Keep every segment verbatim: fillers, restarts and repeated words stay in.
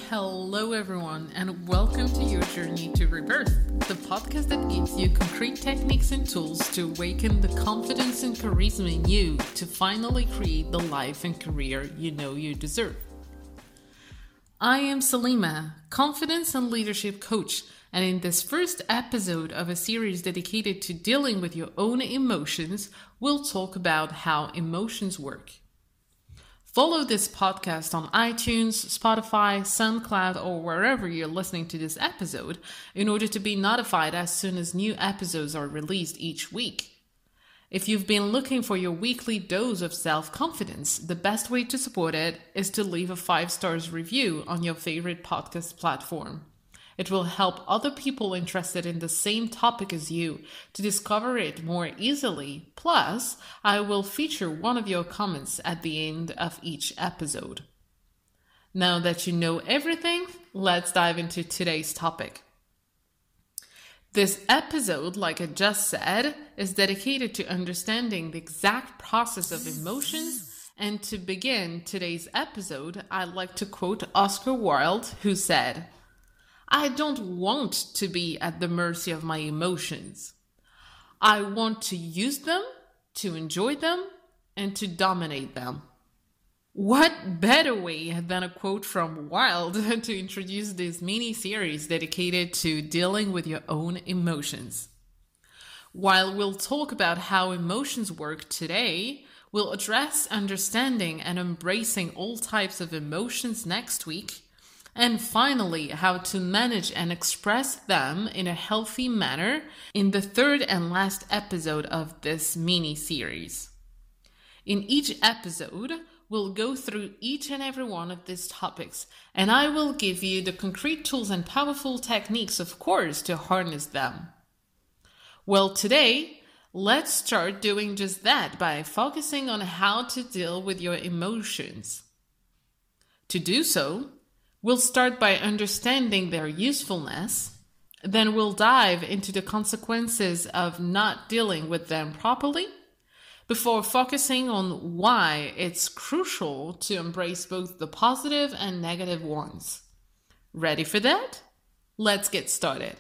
Hello, everyone, and welcome to your journey to rebirth, the podcast that gives you concrete techniques and tools to awaken the confidence and charisma in you to finally create the life and career you know you deserve. I am Salima, confidence and leadership coach, and in this first episode of a series dedicated to dealing with your own emotions, we'll talk about how emotions work. Follow this podcast on iTunes, Spotify, SoundCloud, or wherever you're listening to this episode in order to be notified as soon as new episodes are released each week. If you've been looking for your weekly dose of self-confidence, the best way to support it is to leave a five stars review on your favorite podcast platform. It will help other people interested in the same topic as you to discover it more easily. Plus, I will feature one of your comments at the end of each episode. Now that you know everything, let's dive into today's topic. This episode, like I just said, is dedicated to understanding the exact process of emotions. And to begin today's episode, I'd like to quote Oscar Wilde, who said, "I don't want to be at the mercy of my emotions. I want to use them, to enjoy them, and to dominate them." What better way than a quote from Wilde to introduce this mini-series dedicated to dealing with your own emotions? While we'll talk about how emotions work today, we'll address understanding and embracing all types of emotions next week. And finally, how to manage and express them in a healthy manner in the third and last episode of this mini-series. In each episode, we'll go through each and every one of these topics, and I will give you the concrete tools and powerful techniques, of course, to harness them. Well, today, let's start doing just that by focusing on how to deal with your emotions. To do so, we'll start by understanding their usefulness, then we'll dive into the consequences of not dealing with them properly, before focusing on why it's crucial to embrace both the positive and negative ones. Ready for that? Let's get started.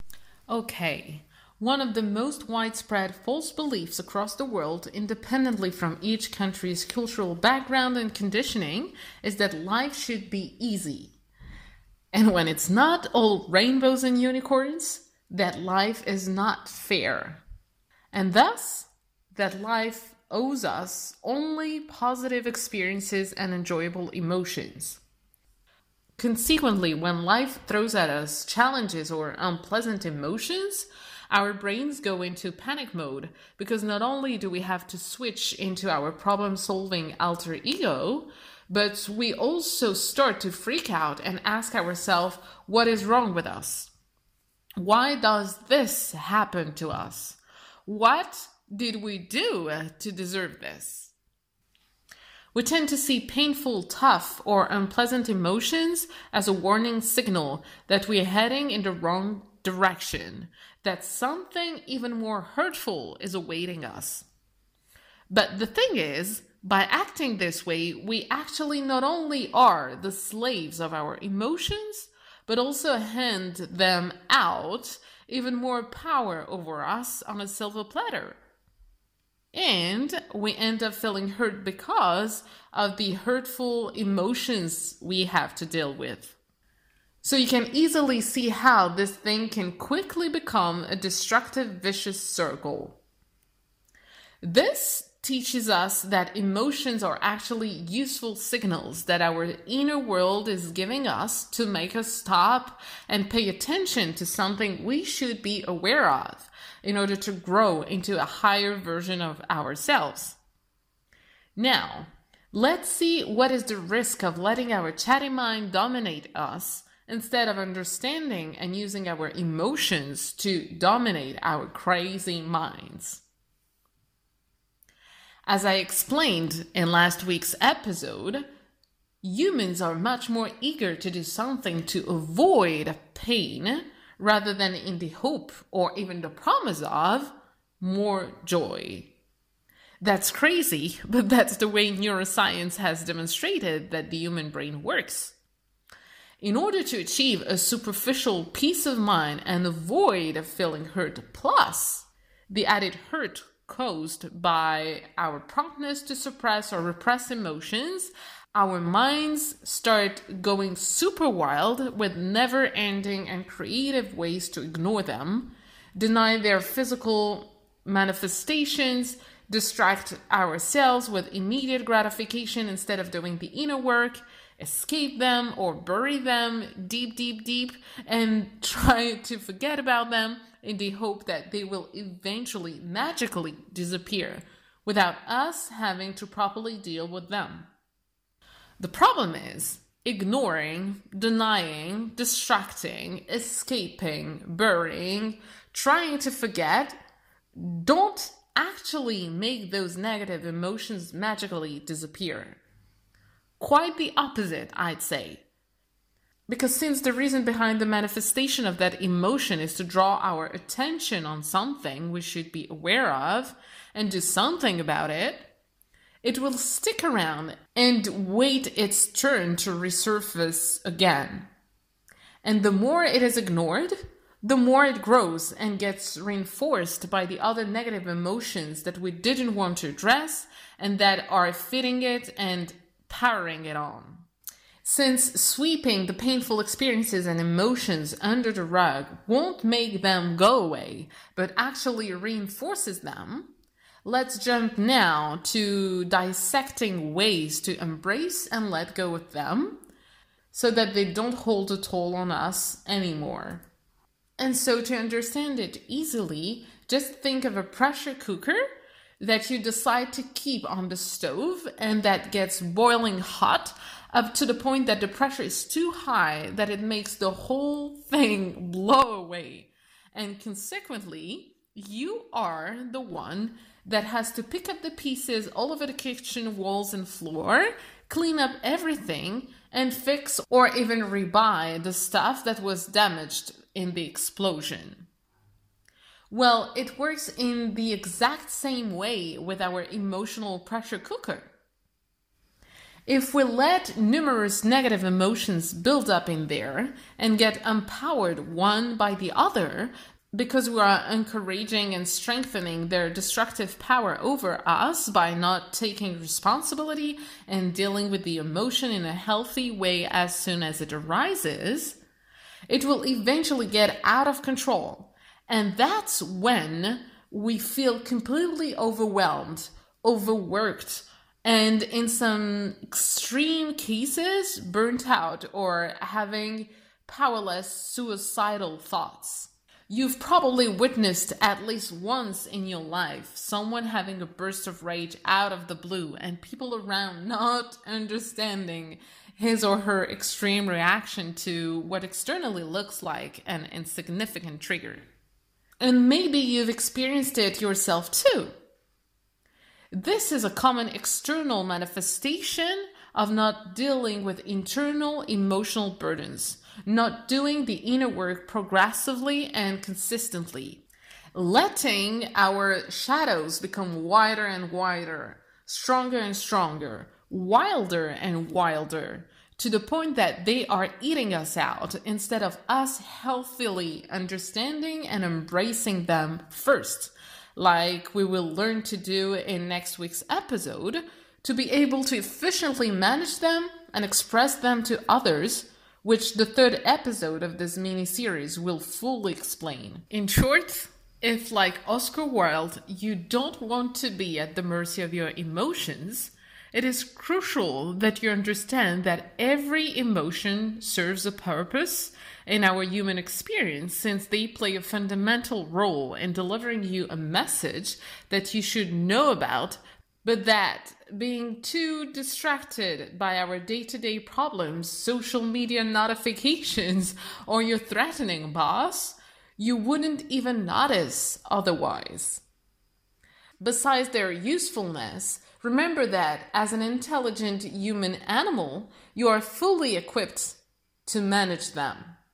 Okay, one of the most widespread false beliefs across the world, independently from each country's cultural background and conditioning, is that life should be easy. And when it's not all rainbows and unicorns, that life is not fair. And thus, that life owes us only positive experiences and enjoyable emotions. Consequently, when life throws at us challenges or unpleasant emotions, our brains go into panic mode because not only do we have to switch into our problem-solving alter ego, but we also start to freak out and ask ourselves, what is wrong with us? Why does this happen to us? What did we do to deserve this? We tend to see painful, tough, or unpleasant emotions as a warning signal that we are heading in the wrong direction, that something even more hurtful is awaiting us. But the thing is, by acting this way, we actually not only are the slaves of our emotions, but also hand them out even more power over us on a silver platter. And we end up feeling hurt because of the hurtful emotions we have to deal with. So you can easily see how this thing can quickly become a destructive, vicious circle. This teaches us that emotions are actually useful signals that our inner world is giving us to make us stop and pay attention to something we should be aware of in order to grow into a higher version of ourselves. Now, let's see what is the risk of letting our chatty mind dominate us instead of understanding and using our emotions to dominate our crazy minds. As I explained in last week's episode, humans are much more eager to do something to avoid pain rather than in the hope or even the promise of more joy. That's crazy, but that's the way neuroscience has demonstrated that the human brain works. In order to achieve a superficial peace of mind and avoid feeling hurt, plus the added hurt caused by our promptness to suppress or repress emotions, our minds start going super wild with never-ending and creative ways to ignore them, deny their physical manifestations, distract ourselves with immediate gratification instead of doing the inner work, escape them or bury them deep, deep, deep, and try to forget about them in the hope that they will eventually magically disappear without us having to properly deal with them. The problem is, ignoring, denying, distracting, escaping, burying, trying to forget, don't actually make those negative emotions magically disappear. Quite the opposite, I'd say. Because since the reason behind the manifestation of that emotion is to draw our attention on something we should be aware of and do something about it, it will stick around and wait its turn to resurface again. And the more it is ignored, the more it grows and gets reinforced by the other negative emotions that we didn't want to address and that are fitting it and powering it on. Since sweeping the painful experiences and emotions under the rug won't make them go away, but actually reinforces them, let's jump now to dissecting ways to embrace and let go of them so that they don't hold a toll on us anymore. And so to understand it easily, just think of a pressure cooker that you decide to keep on the stove and that gets boiling hot up to the point that the pressure is too high that it makes the whole thing blow away. And consequently, you are the one that has to pick up the pieces all over the kitchen walls and floor, clean up everything, and fix or even rebuy the stuff that was damaged in the explosion. Well, it works in the exact same way with our emotional pressure cooker. If we let numerous negative emotions build up in there and get empowered one by the other, because we are encouraging and strengthening their destructive power over us by not taking responsibility and dealing with the emotion in a healthy way as soon as it arises, it will eventually get out of control. And that's when we feel completely overwhelmed, overworked, and in some extreme cases, burnt out or having powerless suicidal thoughts. You've probably witnessed at least once in your life someone having a burst of rage out of the blue and people around not understanding his or her extreme reaction to what externally looks like an insignificant trigger. And maybe you've experienced it yourself too. This is a common external manifestation of not dealing with internal emotional burdens, not doing the inner work progressively and consistently, letting our shadows become wider and wider, stronger and stronger, wilder and wilder, to the point that they are eating us out instead of us healthily understanding and embracing them first, like we will learn to do in next week's episode, to be able to efficiently manage them and express them to others, which the third episode of this mini-series will fully explain. In short, if like Oscar Wilde, you don't want to be at the mercy of your emotions, it is crucial that you understand that every emotion serves a purpose in our human experience, since they play a fundamental role in delivering you a message that you should know about, but that being too distracted by our day-to-day problems, social media notifications, or your threatening boss, you wouldn't even notice otherwise. Besides their usefulness, remember that as an intelligent human animal, you are fully equipped to manage them.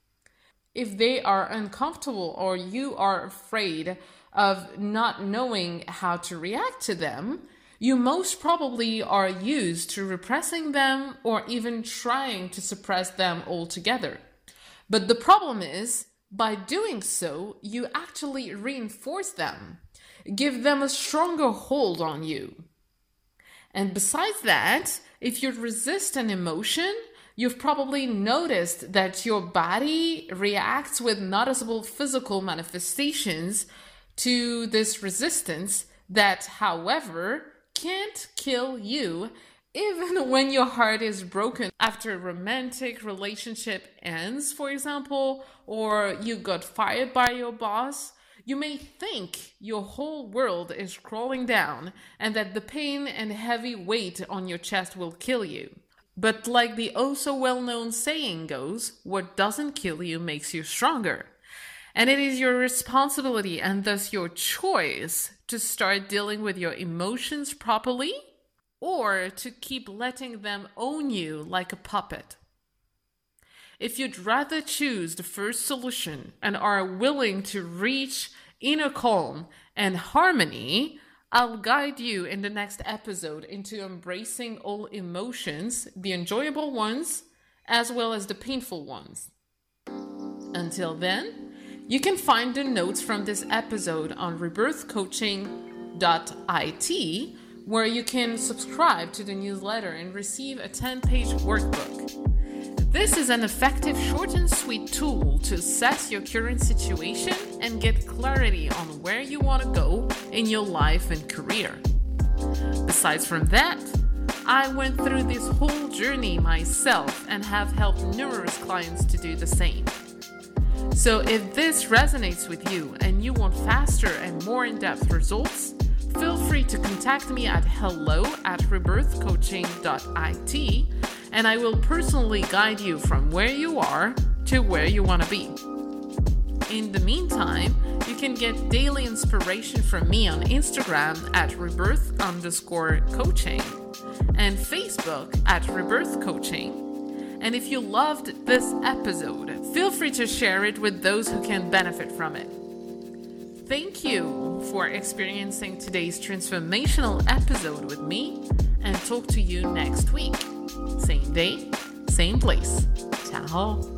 If they are uncomfortable or you are afraid of not knowing how to react to them, you most probably are used to repressing them or even trying to suppress them altogether. But the problem is, by doing so, you actually reinforce them, give them a stronger hold on you. And besides that, if you resist an emotion, you've probably noticed that your body reacts with noticeable physical manifestations to this resistance that, however, can't kill you even when your heart is broken after a romantic relationship ends, for example, or you got fired by your boss. You may think your whole world is crawling down and that the pain and heavy weight on your chest will kill you. But like the oh so well-known saying goes, what doesn't kill you makes you stronger. And it is your responsibility and thus your choice to start dealing with your emotions properly or to keep letting them own you like a puppet. If you'd rather choose the first solution and are willing to reach inner calm and harmony, I'll guide you in the next episode into embracing all emotions, the enjoyable ones, as well as the painful ones. Until then, you can find the notes from this episode on rebirth coaching dot I T, where you can subscribe to the newsletter and receive a ten-page workbook. This is an effective, short and sweet tool to assess your current situation and get clarity on where you want to go in your life and career. Besides from that, I went through this whole journey myself and have helped numerous clients to do the same. So if this resonates with you and you want faster and more in-depth results, feel free to contact me at hello at rebirth coaching dot I T, and I will personally guide you from where you are to where you want to be. In the meantime, you can get daily inspiration from me on Instagram at rebirth underscore coaching and Facebook at rebirth coaching. And if you loved this episode, feel free to share it with those who can benefit from it. Thank you for experiencing today's transformational episode with me, and talk to you next week. Same day, same place. Ciao.